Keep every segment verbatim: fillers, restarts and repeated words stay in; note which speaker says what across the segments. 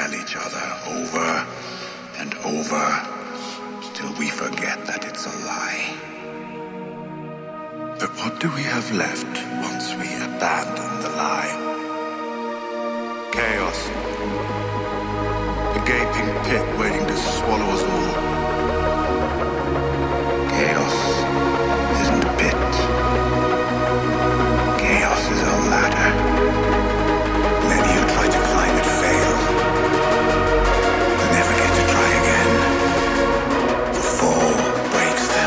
Speaker 1: tell each other over and over till we forget that it's a lie. But what do we have left once we abandon the lie? Chaos. A gaping pit waiting to swallow us all. Chaos isn't a pit. Chaos is a ladder. Many who try to climb it fail. They never get to try again. The fall breaks them.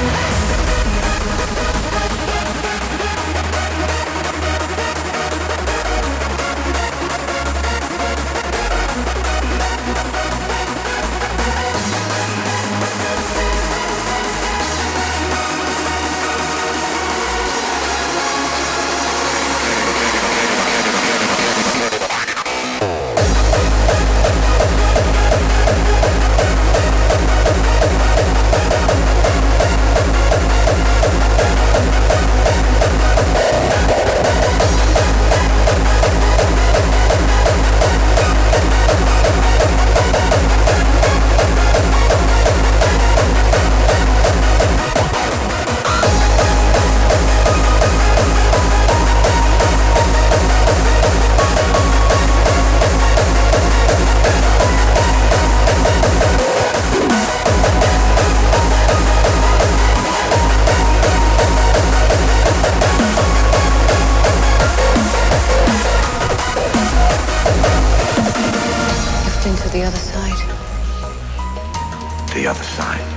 Speaker 1: The other side.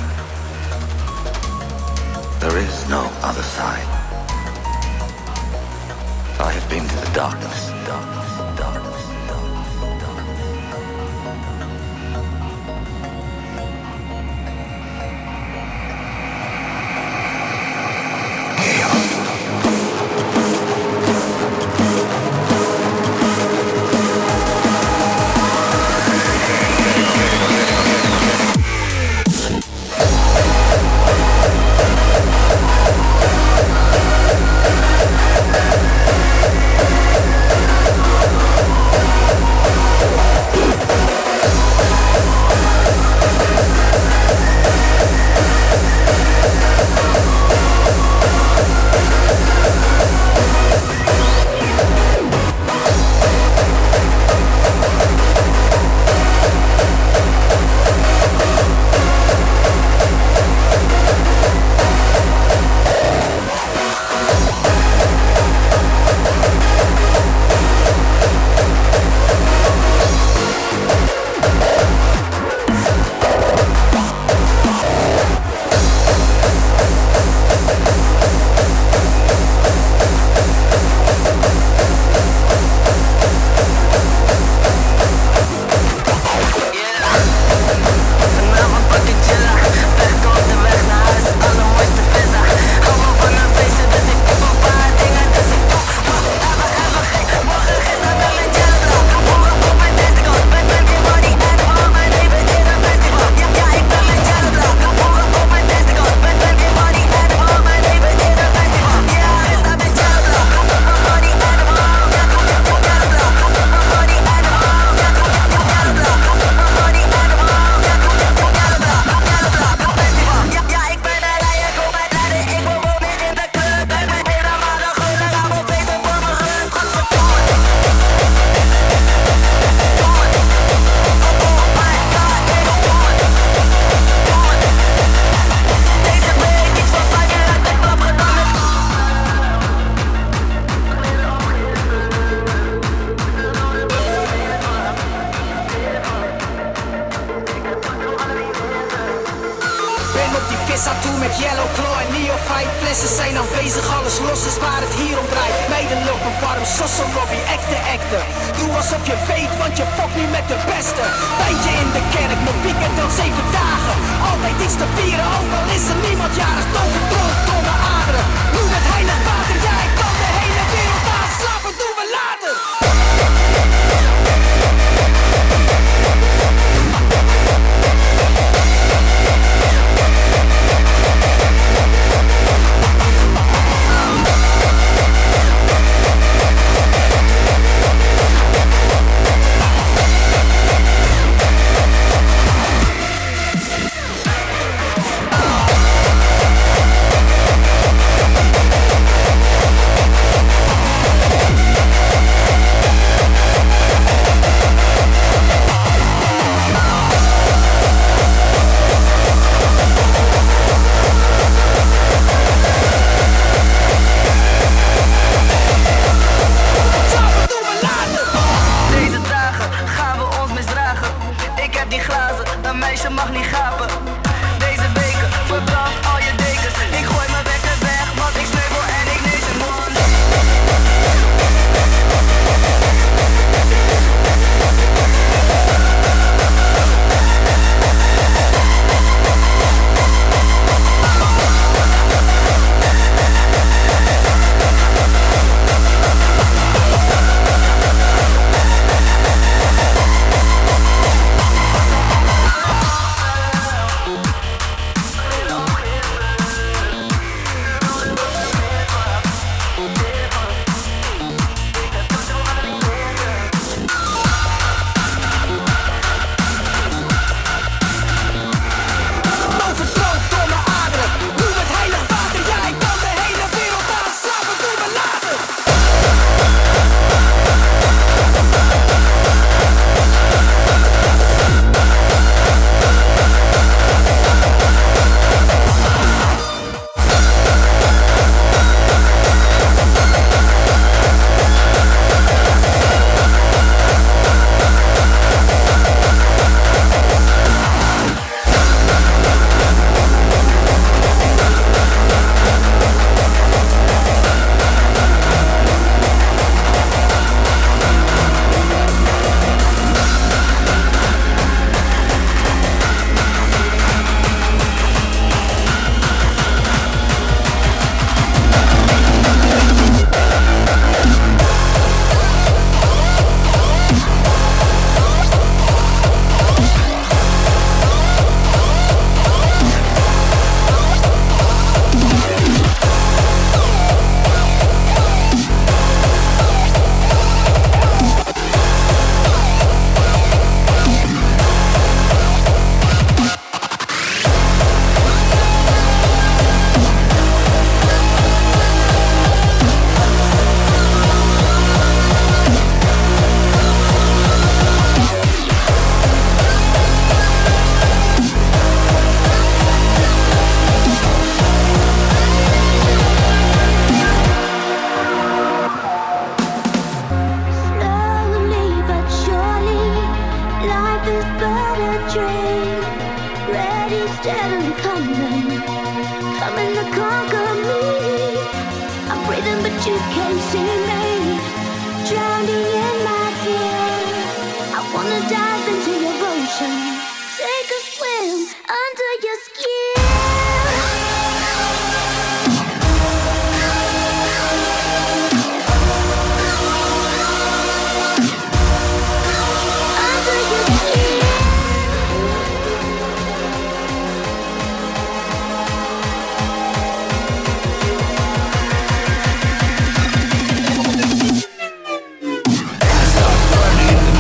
Speaker 1: There is no other side. I have been to the darkness, darkness, darkness, darkness, darkness. Chaos.
Speaker 2: meisje mag niet gapen. Deze weken verbrand al je dekens. Ik gooi mijn wekker weg, want ik sneeuwel en ik lees een man.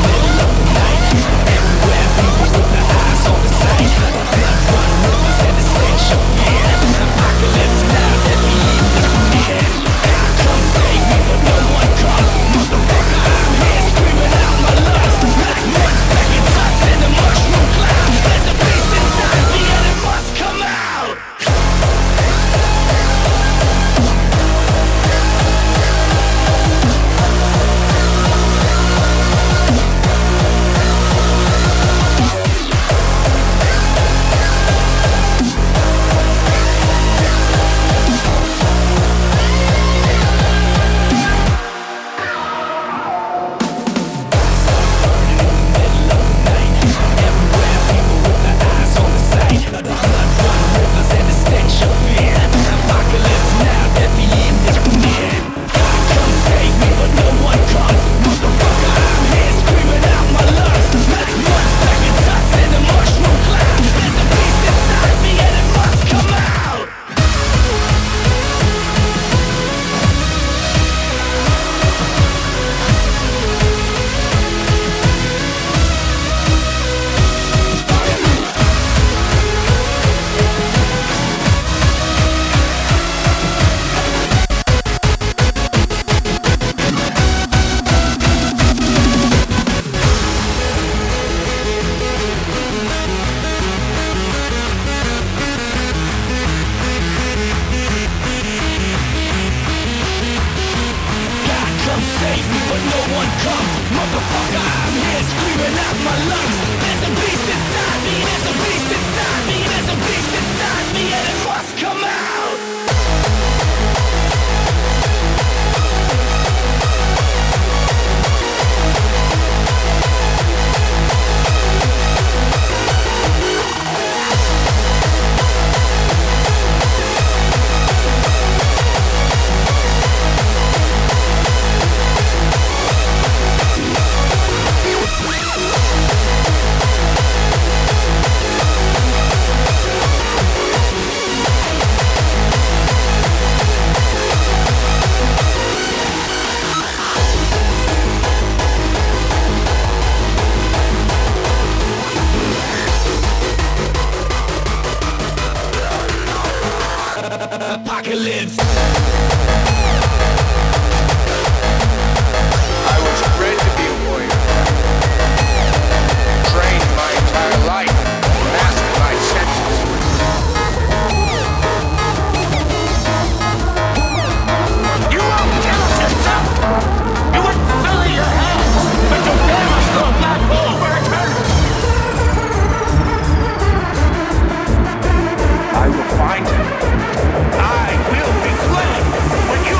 Speaker 3: Everywhere people with their eyes on the sight. Blood running rivers and the apocalypse.
Speaker 4: I was bred to be a warrior. Trained my entire life. Mastered my senses.
Speaker 3: You won't kill us yourself! You wouldn't fill your hands, but you damn us to a black hole for eternity! I will find him. I will be glad when you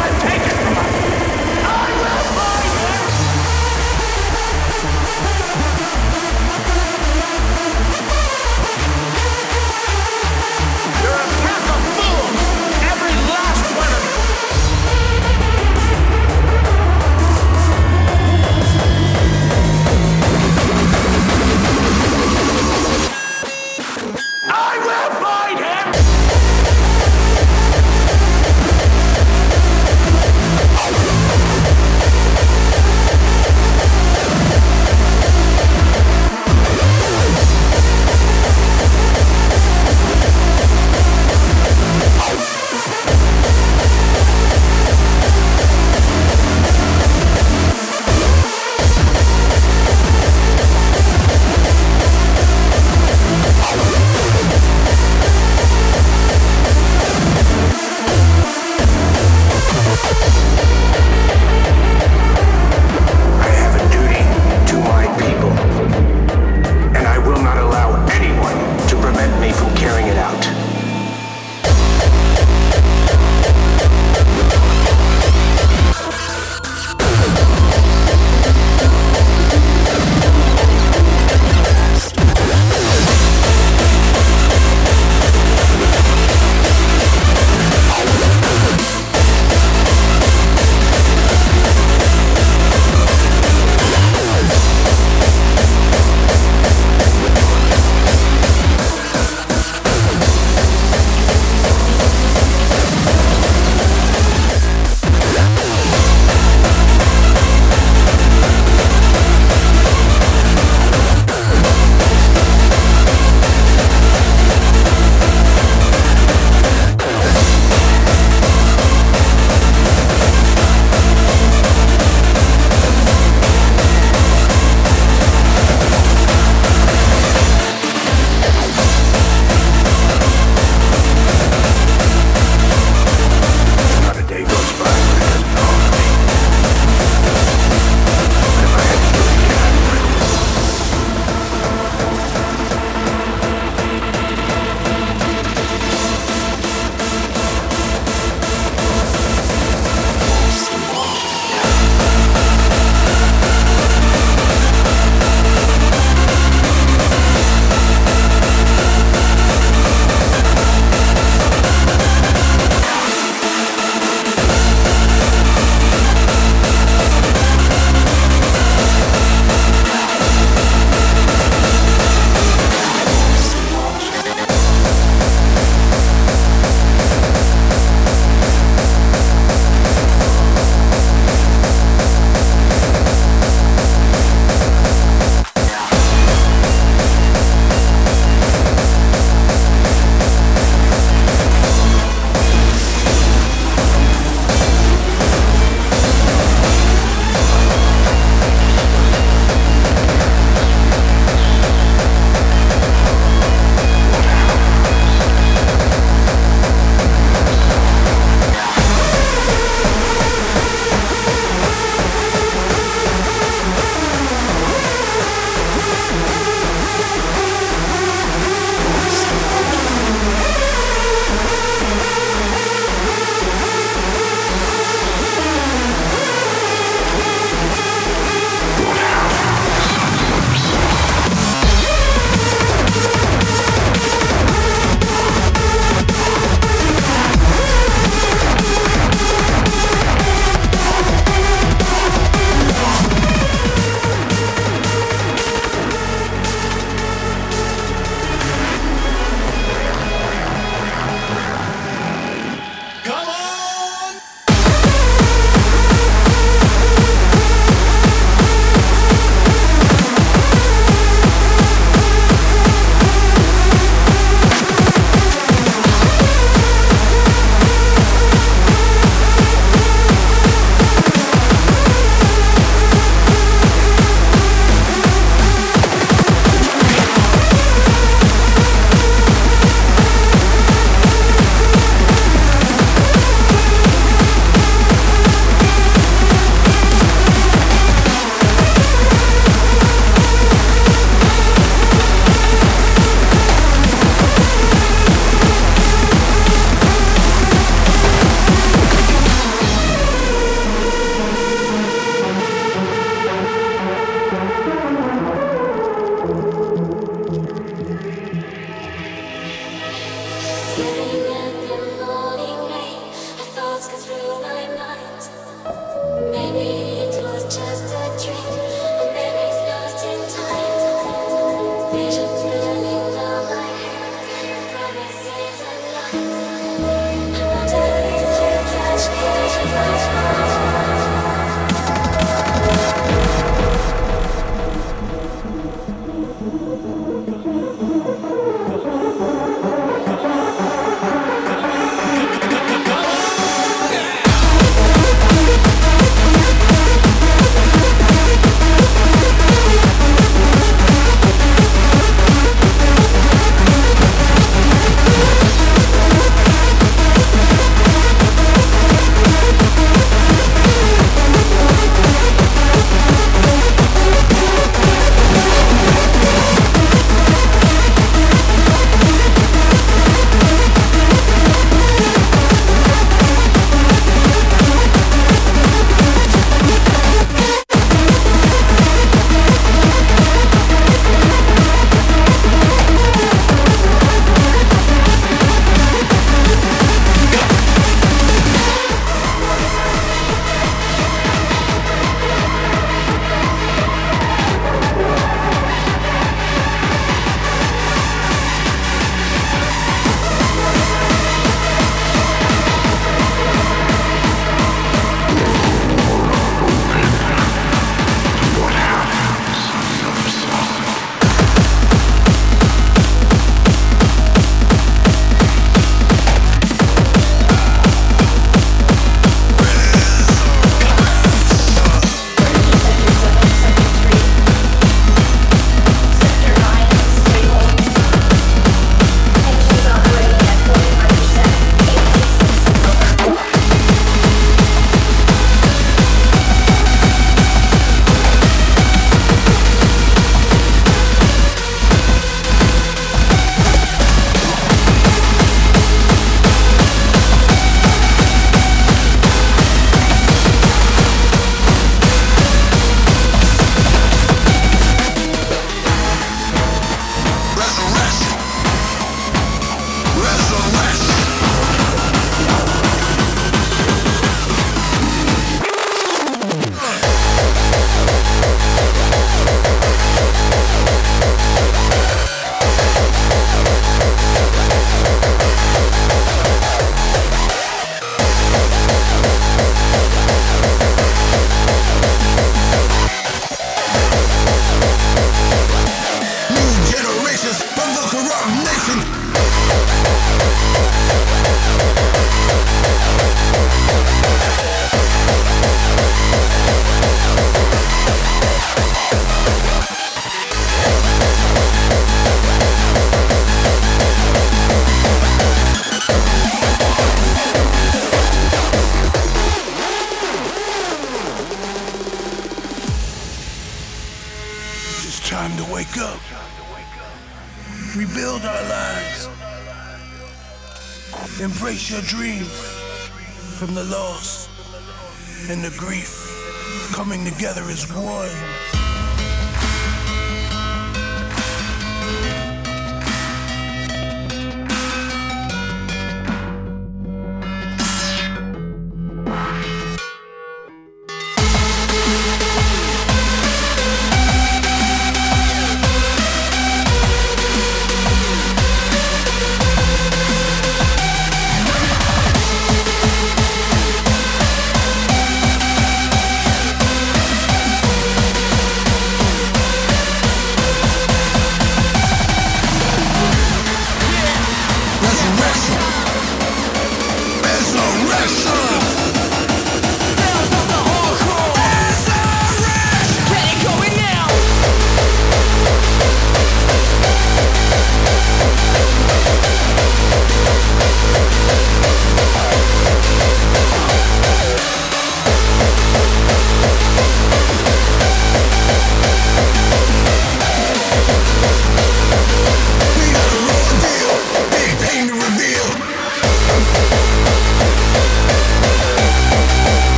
Speaker 5: Embrace your dreams from the loss and the grief, coming together as one.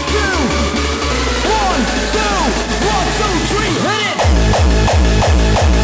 Speaker 2: Hit it!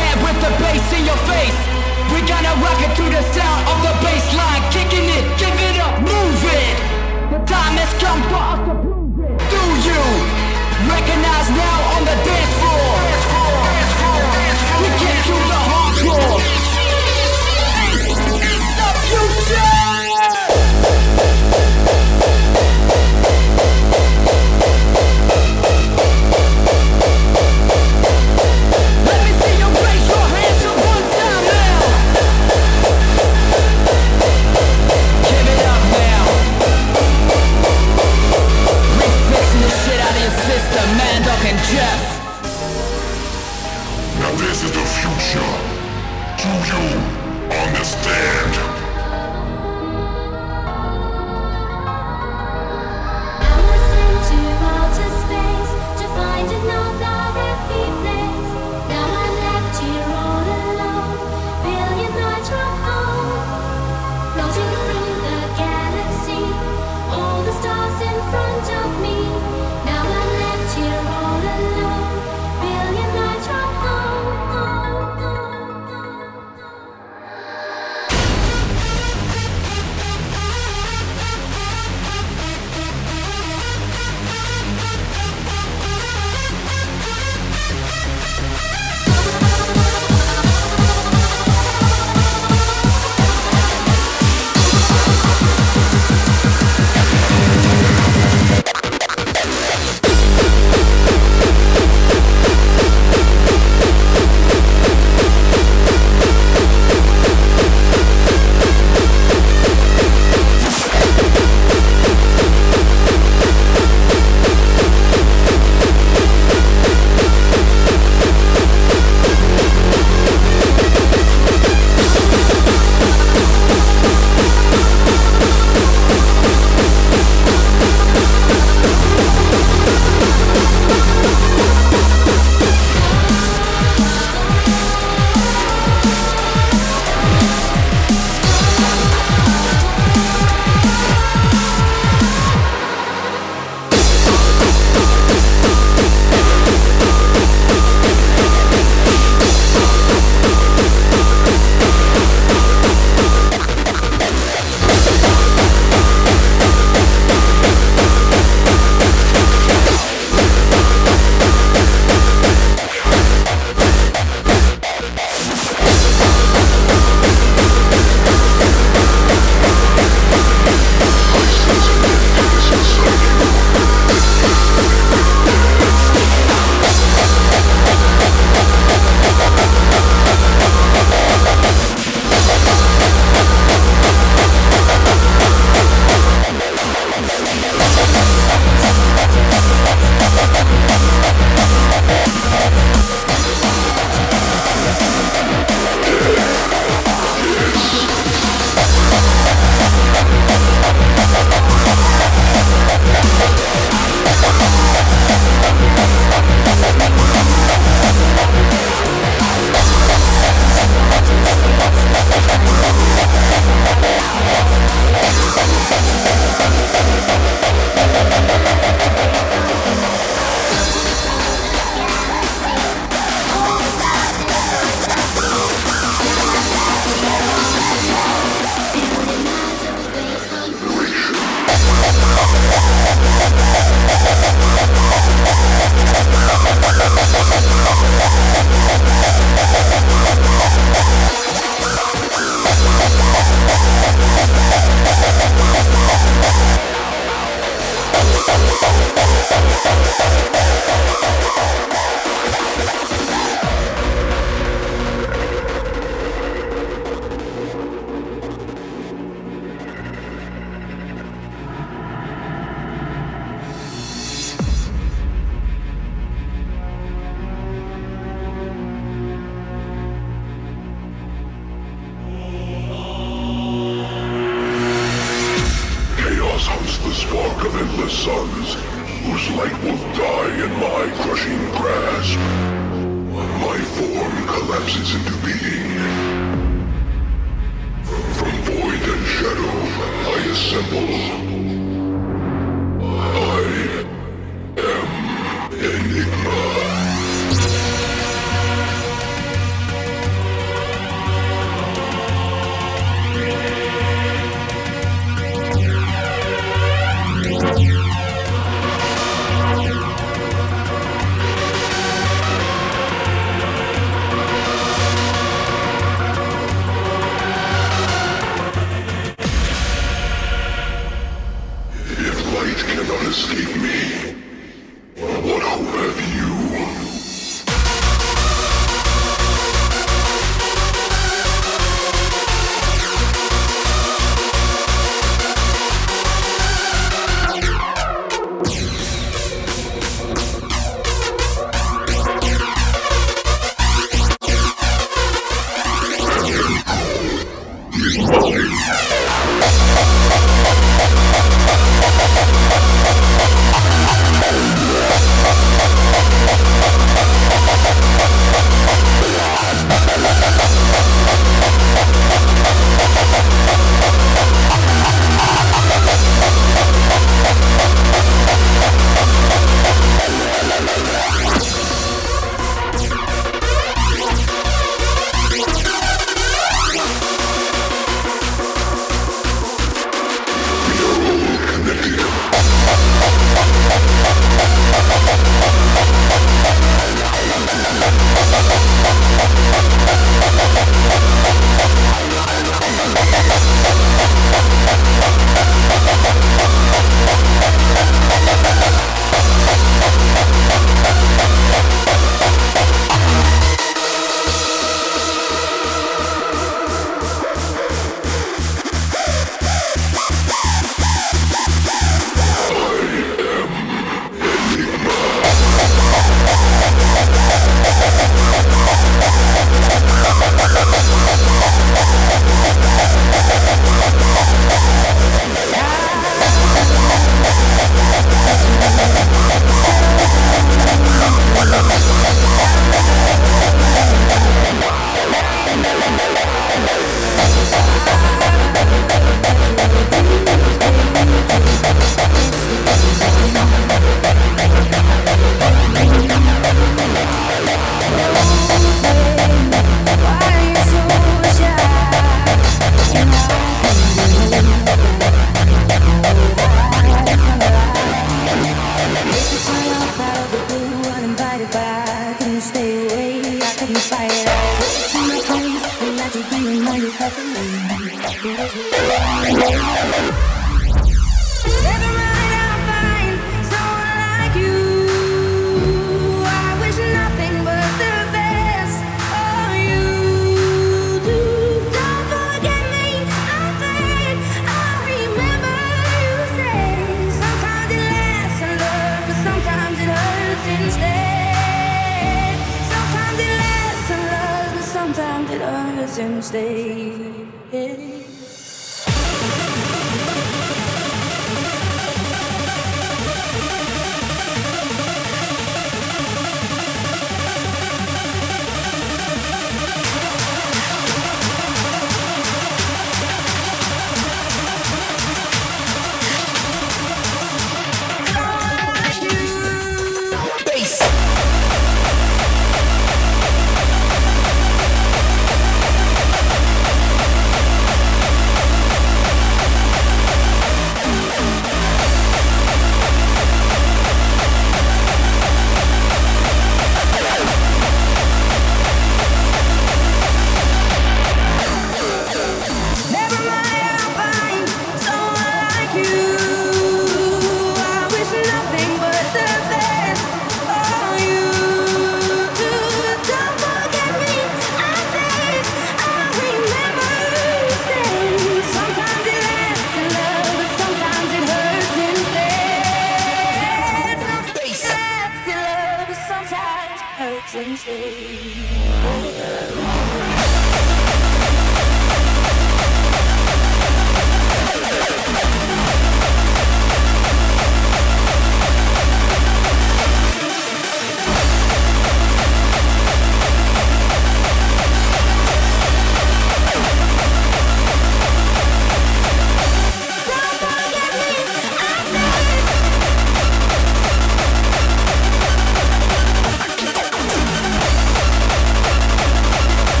Speaker 6: Don't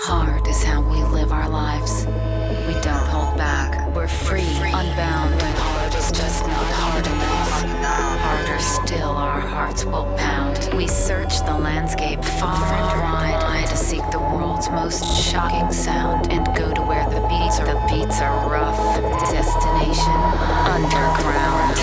Speaker 6: Hard is how we live our lives. We don't hold back. We're free, unbound. When hard is just not hard enough. Harder still, our hearts will pound. We search the landscape far and wide to seek the world's most shocking sound and go to where the beats are. The beats are rough. Destination underground.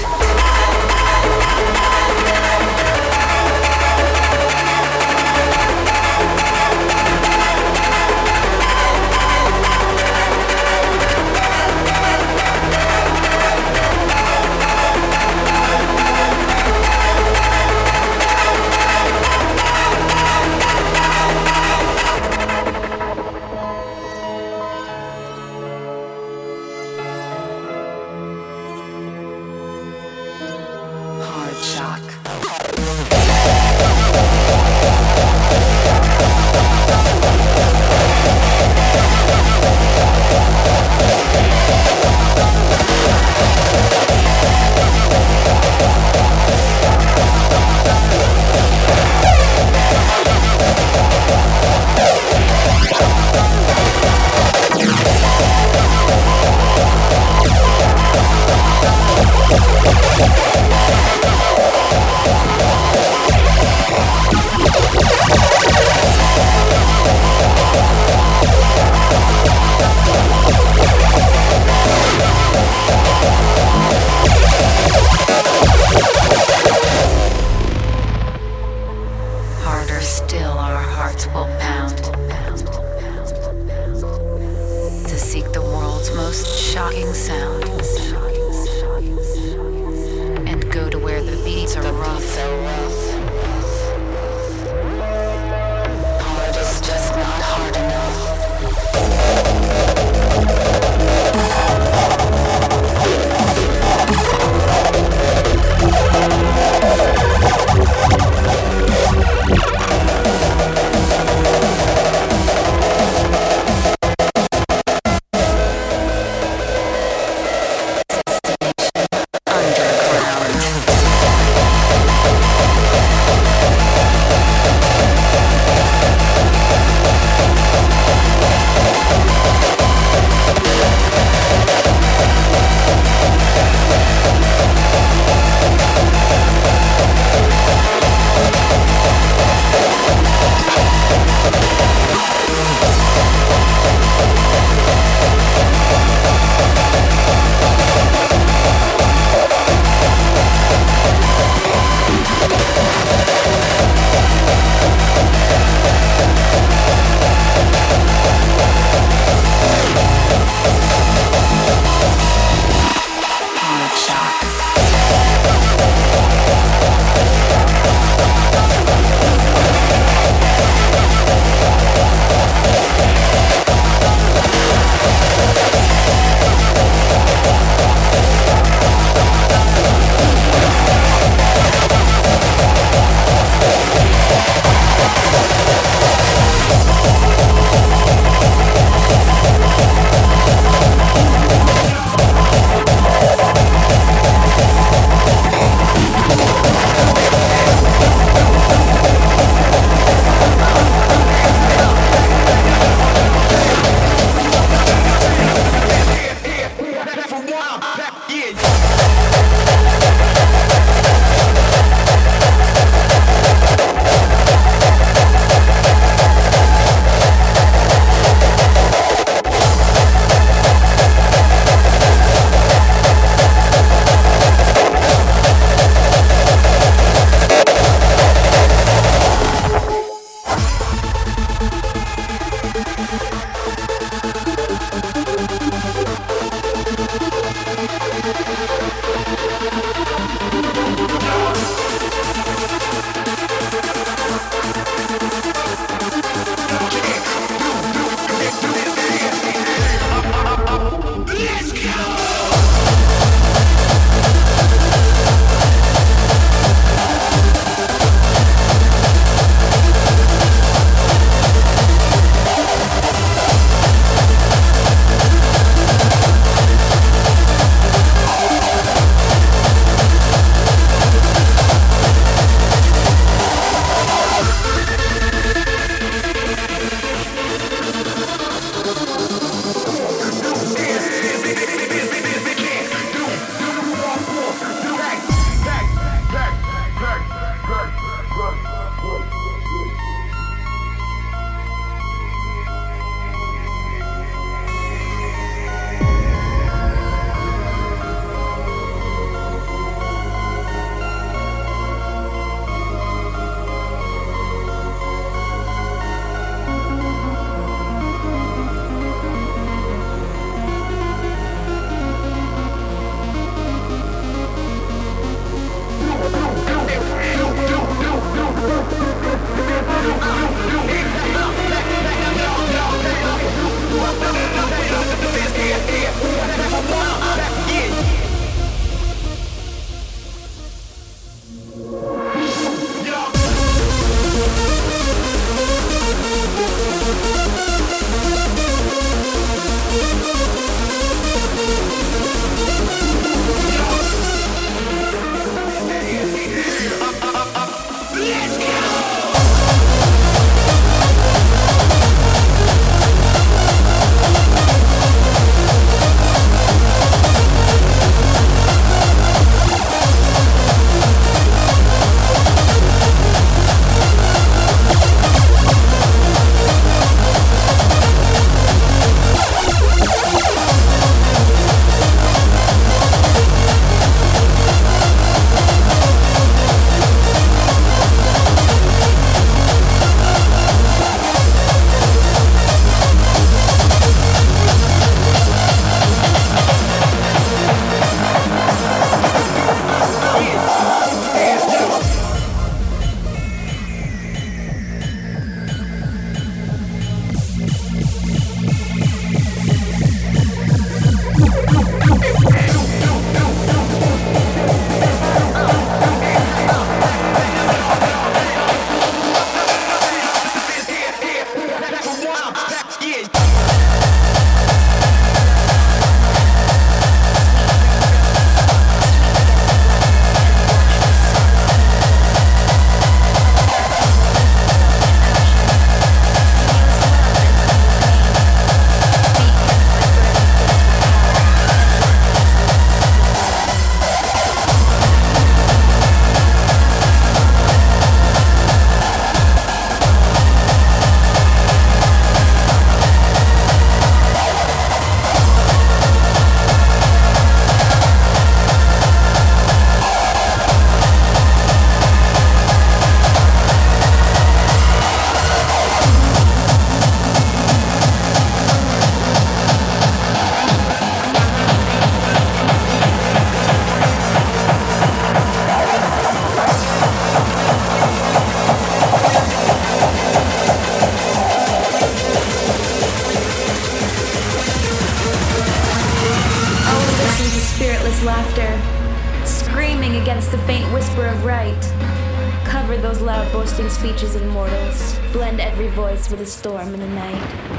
Speaker 7: endless laughter, screaming against the faint whisper of right. Cover those loud boasting speeches of mortals, blend every voice with a storm in the night.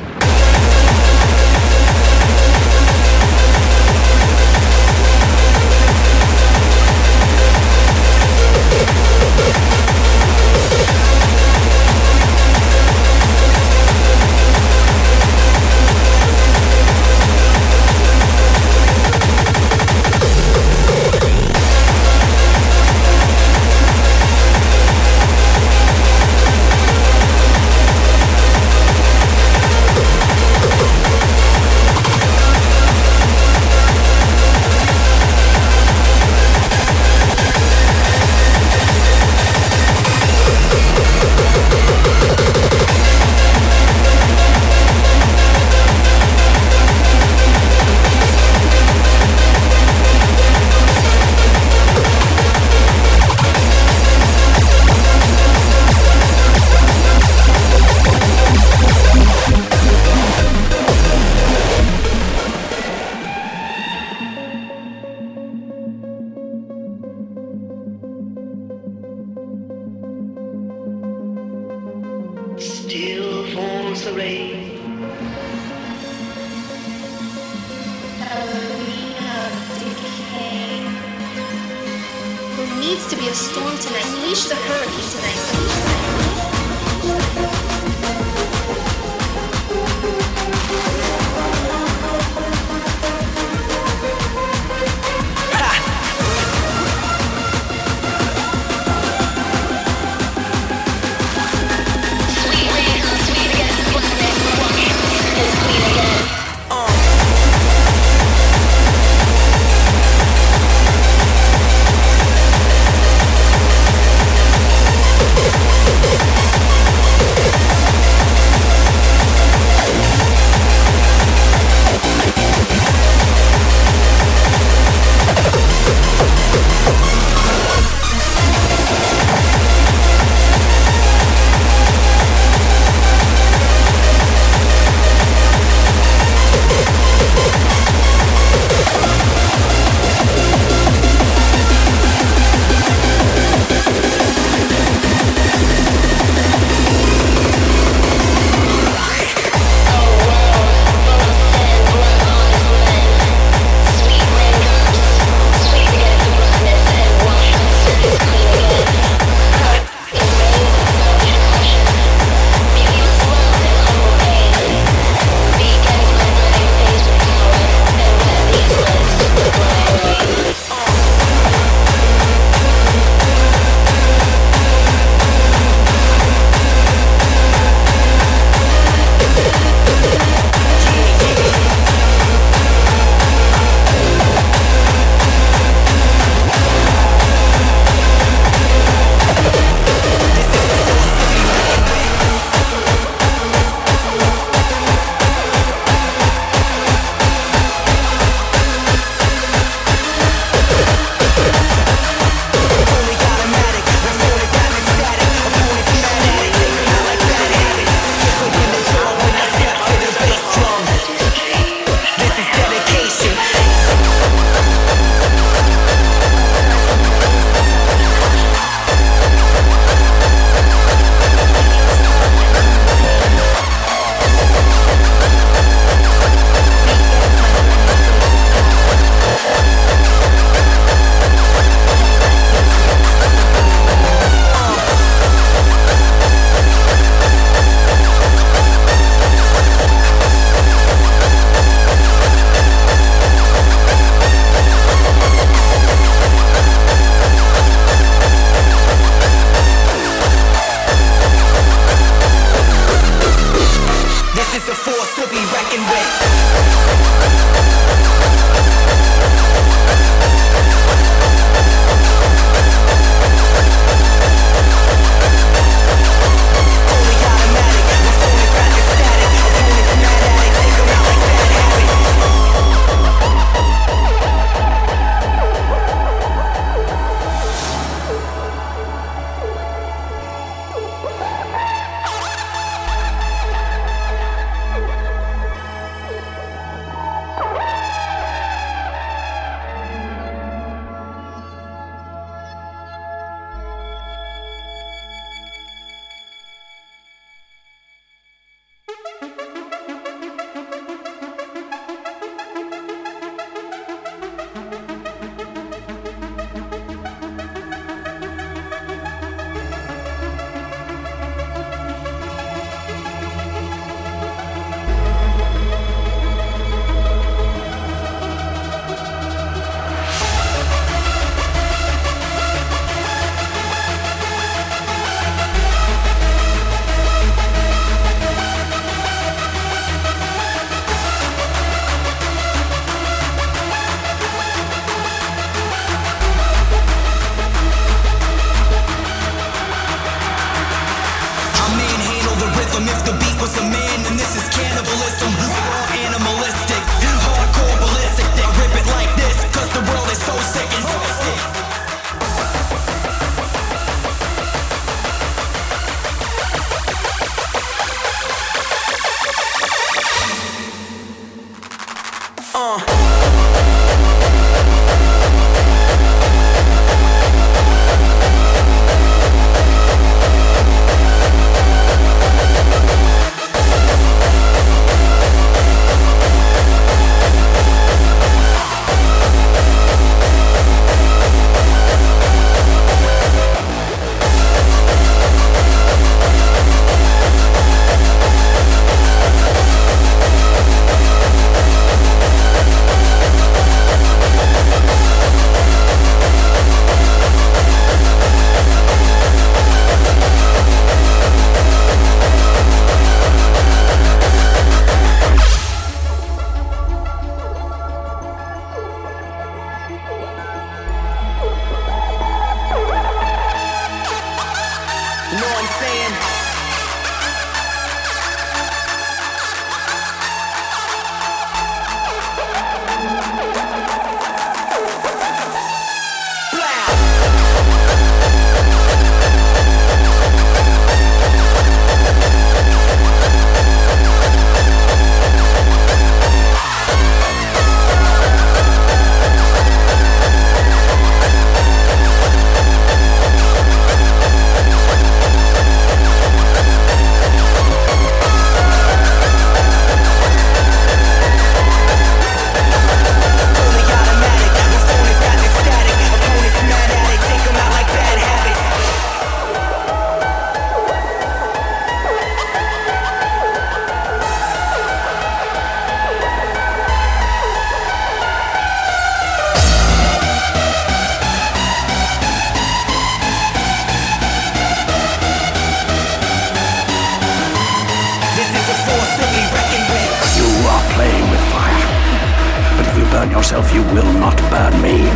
Speaker 8: yourself, you will not burn me.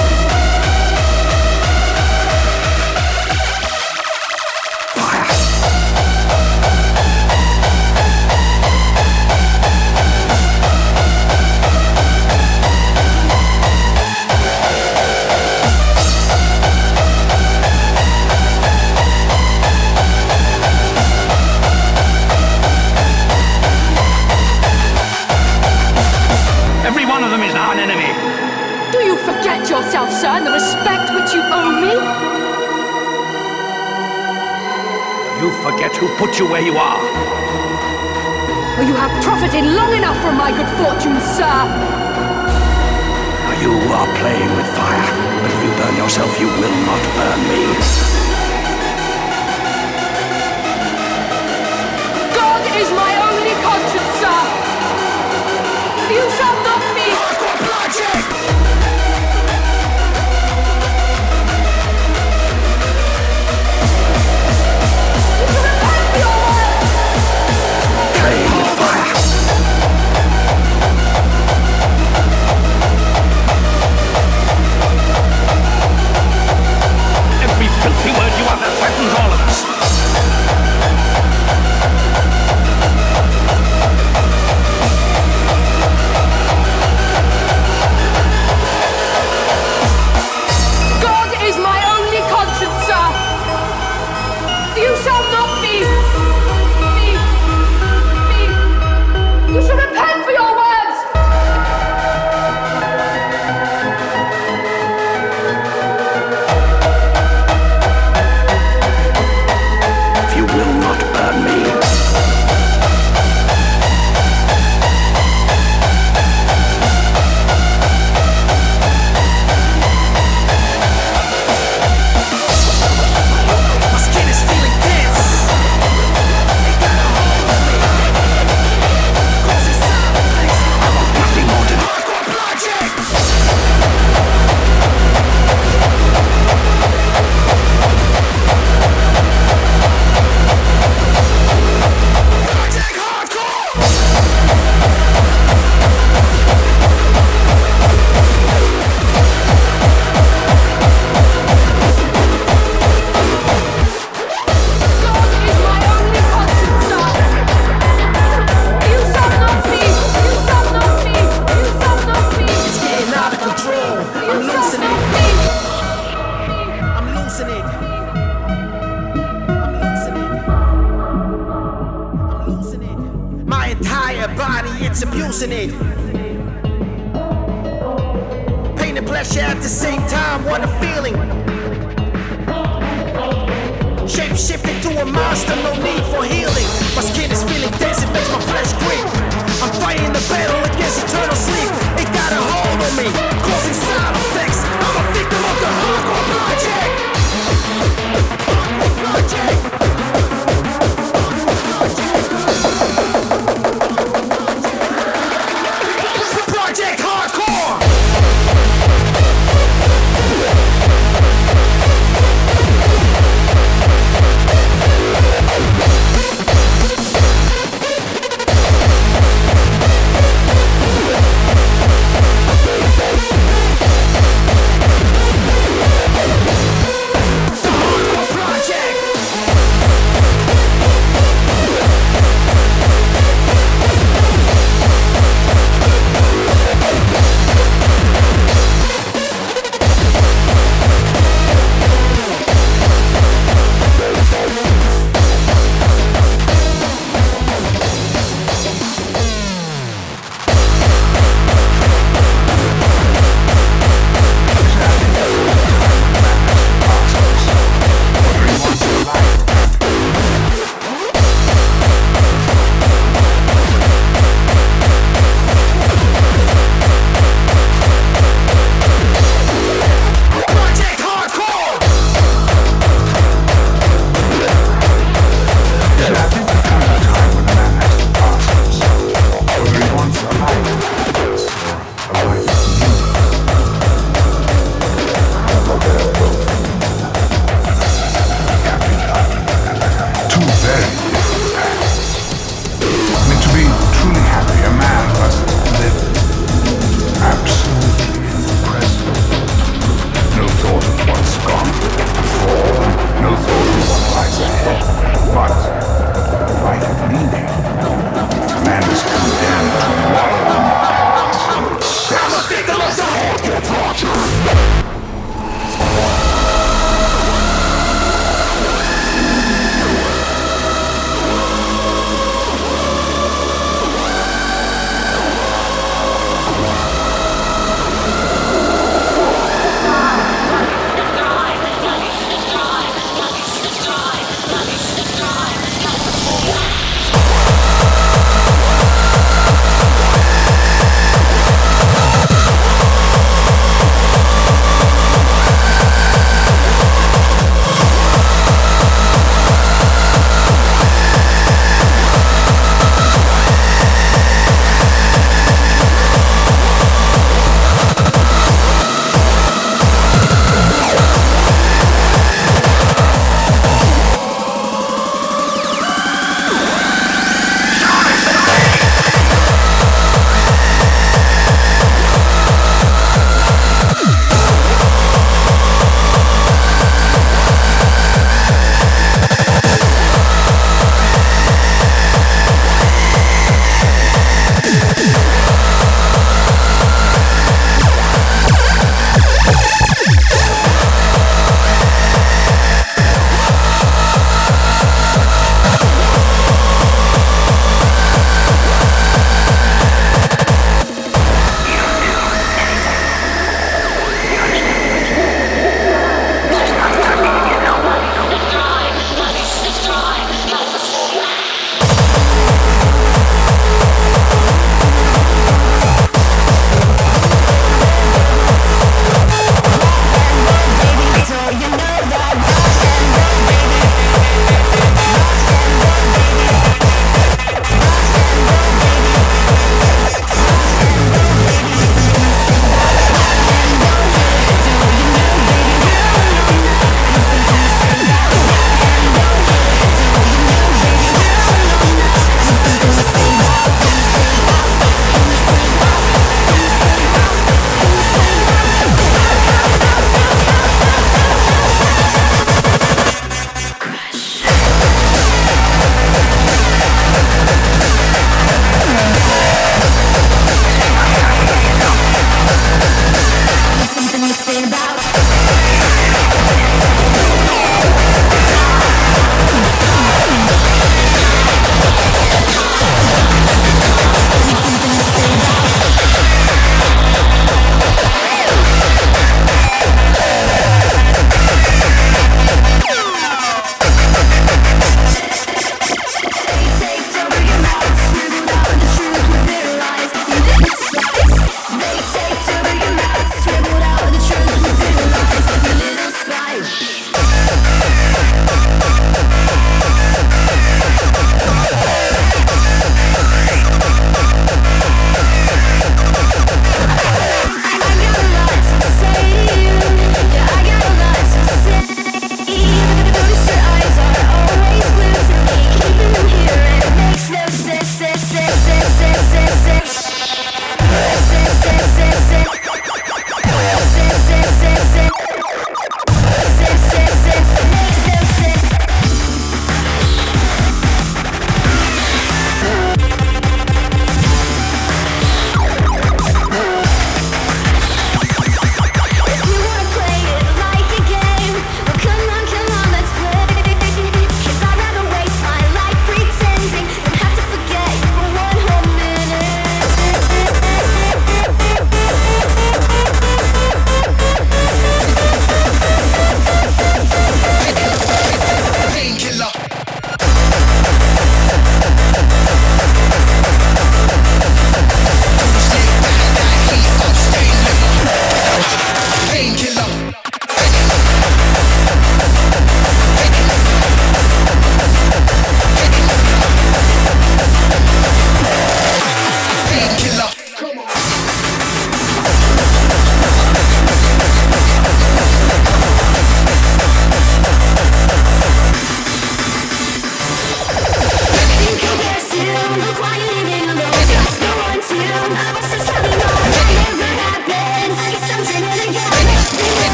Speaker 9: Yourself, sir, and the respect which you owe me?
Speaker 8: You forget who put you where you are.
Speaker 9: Well, you have profited long enough from my good fortune, sir.
Speaker 8: Now you are playing with fire, but if you burn yourself, you will not burn me.
Speaker 9: God is my only conscience, sir. You shall not be. Project!
Speaker 8: Filthy word you utter threatens all of us.
Speaker 9: God is my only conscience, sir. You shall not be. be. be. You shall repent for your words.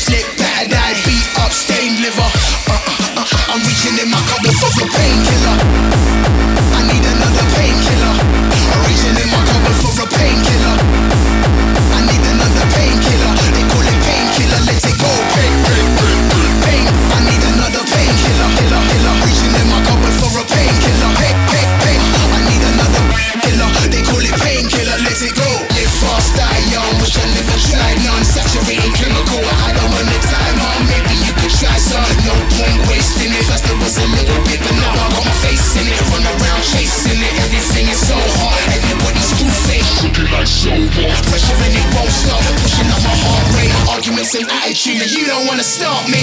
Speaker 10: slip, battered eye, beat up, stained liver. Uh, uh, uh, I'm reaching in my cupboard for a painkiller. I need another painkiller. I'm reaching in my cupboard for a painkiller. I need another painkiller. They call it painkiller, let it go. Pain, pain, pain, pain. I need another painkiller. Killer, killer. Reaching in my cupboard for a painkiller. Pain, pain, pain. I need another killer. They call it painkiller, let it go. Live fast, die young. Wish I never tried none. Saturated chemical. I don't want the time on. Maybe you could try some. No point wasting it. First there was a little bit, but now I got my face in it. Run around chasing it. Everything is so hard. Everybody's screw face. Looking like so hard. Pressure and it won't stop. Pushing up my heart rate. Arguments and attitude. And you don't wanna stop me.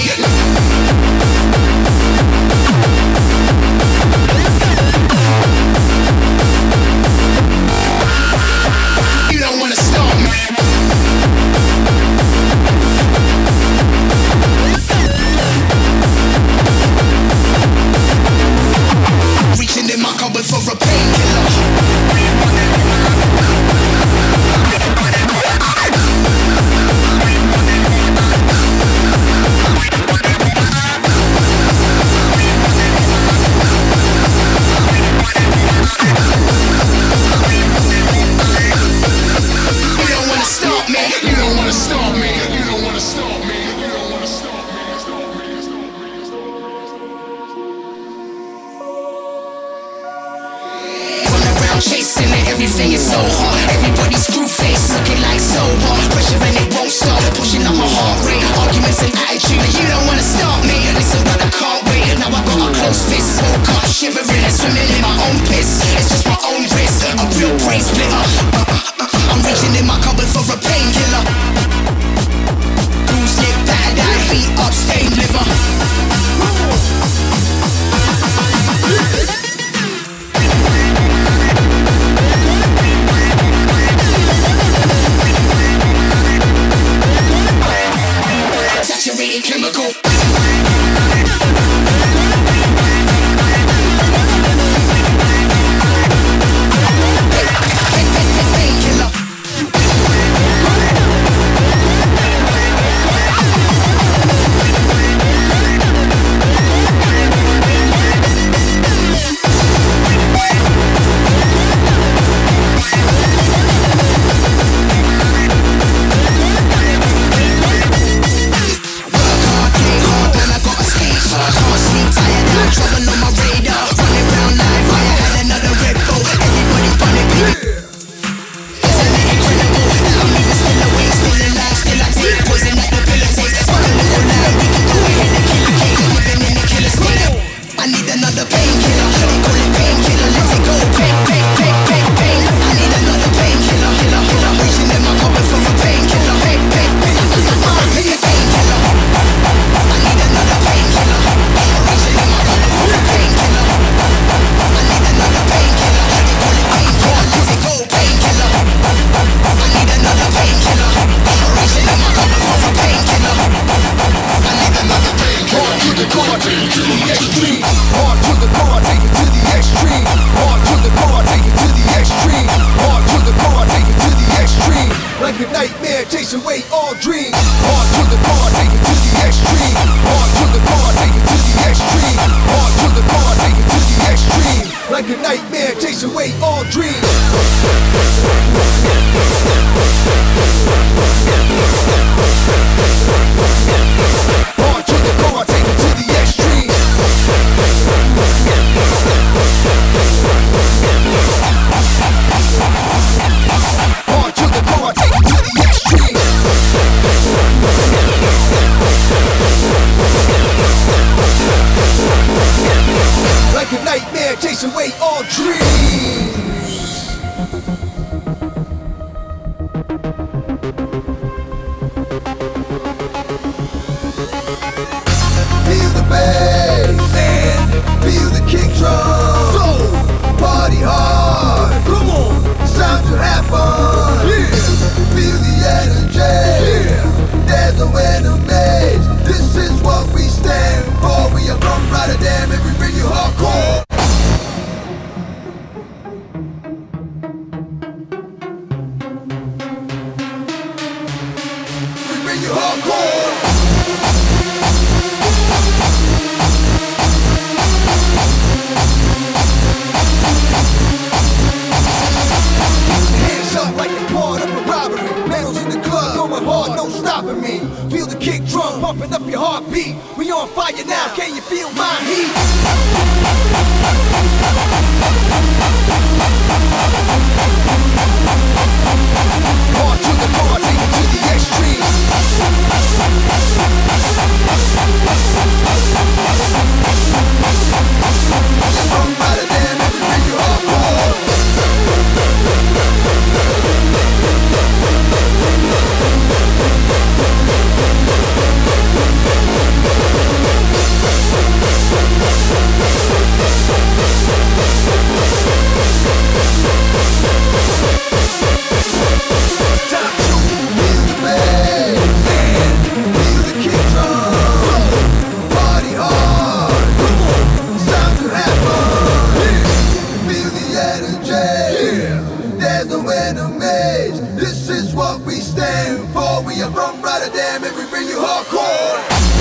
Speaker 10: You don't wanna stop me. Reaching in my cupboard for a painkiller. Chasing it, everything is so hard. Everybody's screw face, looking like so hard. Pressure and it won't stop, pushing up my heart rate. Arguments and attitude, and you don't wanna stop me. Listen, but I can't wait. Now I got a close fist, woke up shivering and swimming in my own piss. It's just my own risk, a real brain splitter. Uh, uh, uh, I'm reaching in my cupboard for a painkiller. Bruised lip, battered eye, beat up, stained liver. Saturated chemical. Painkiller. Trouble on my radar, running round live. I had another Red Bull. Everybody's running big. Isn't it incredible that I'm even still awake, still alive, still I take poison at the pillow taste. Fuck a little line, we can go ahead and kill a cage. Living in the killer state. I need another painkiller. They call it painkiller. Let it go. Pain, pain, pain, pain, pain. I need another painkiller. Killer, killer. Reaching in my cupboard for a painkiller. Pain, pain, pain. Painkiller. I need another painkiller. Reaching in my cupboard for a painkiller. I need another painkiller. They call it painkiller. Let it go. Painkiller. I need another painkiller. Reaching in my cupboard for a painkiller. I need another painkiller. Hard to the core, take it to the extreme. Hard to the core, take it to the extreme. Hard to the core, take it to the extreme. Hard to the core, take it to the extreme. Like a nightmare, chase away all dreams. Hard to the core, take it to the extreme. Hard to the core, take it to the extreme. Hard to the core, take it to the extreme. Like a nightmare, chase away all dreams. Hard to the core, take it to the extreme. pumping up your heartbeat. We on fire now, can you feel my heat? Hard to the core, take it to the extreme. From Rotterdam, everywhere you hardcore. This is what we stand for. We are from Rotterdam and we bring you hardcore.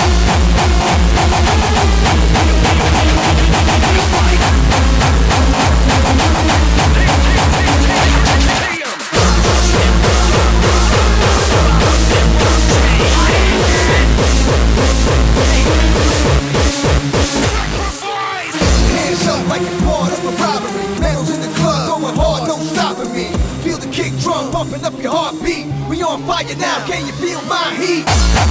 Speaker 10: Hands up like it's part of a robbery. Medals in the club, going hard, no stopping me. Feel the kick drum, pumping up your heartbeat. We on fire now, can you feel my heat?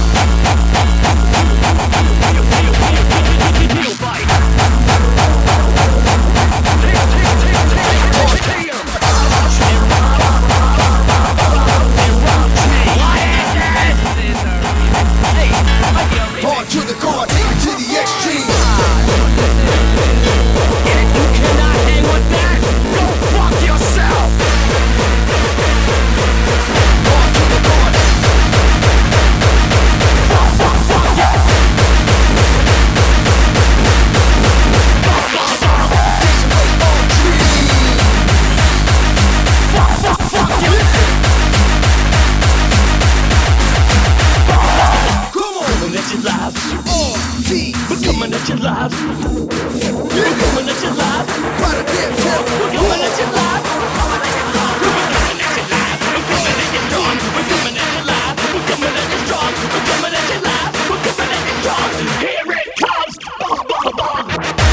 Speaker 10: Hard to the core, take it to the extreme.
Speaker 3: If you cannot hang with that, go fuck yourself. We're coming at you live. We're coming at you live. We're coming at you live. We're coming at you live. We're coming at you strong. We're coming at you live. We're coming at you strong. We're coming at you live. We're coming at you strong. Here it comes. Bum, bum, bum.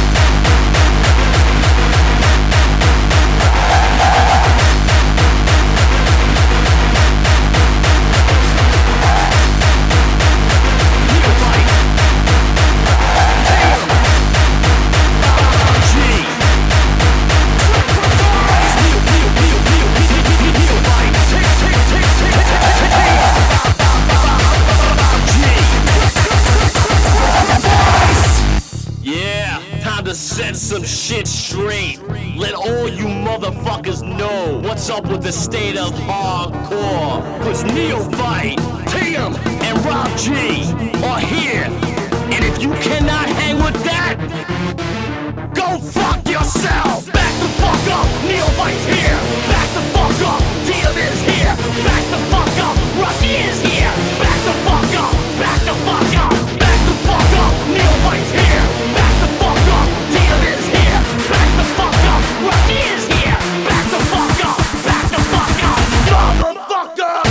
Speaker 3: To set some shit straight. Let all you motherfuckers know what's up with the state of hardcore. Cause Neophyte, Tim, and Rob G are here. And if you cannot hang with that, go fuck yourself. Back the fuck up, Neophyte's here. Back the fuck up, Tim is here. Back the fuck up, Rocky is here. Back the fuck up, back the fuck up. Back the fuck up, Neophyte's here. Back the fuck up, Tim is here. Back the fuck up, Rocky is here. Back the fuck up, back the fuck up, motherfucker.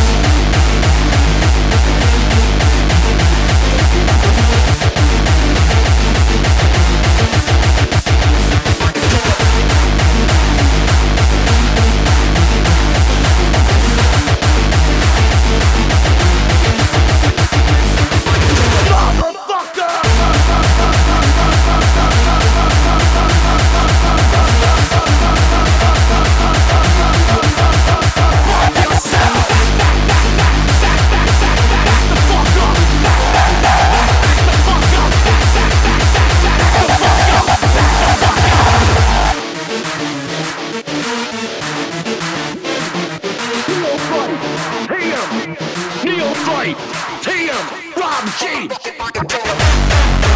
Speaker 3: Neophyte, T M, Rob G.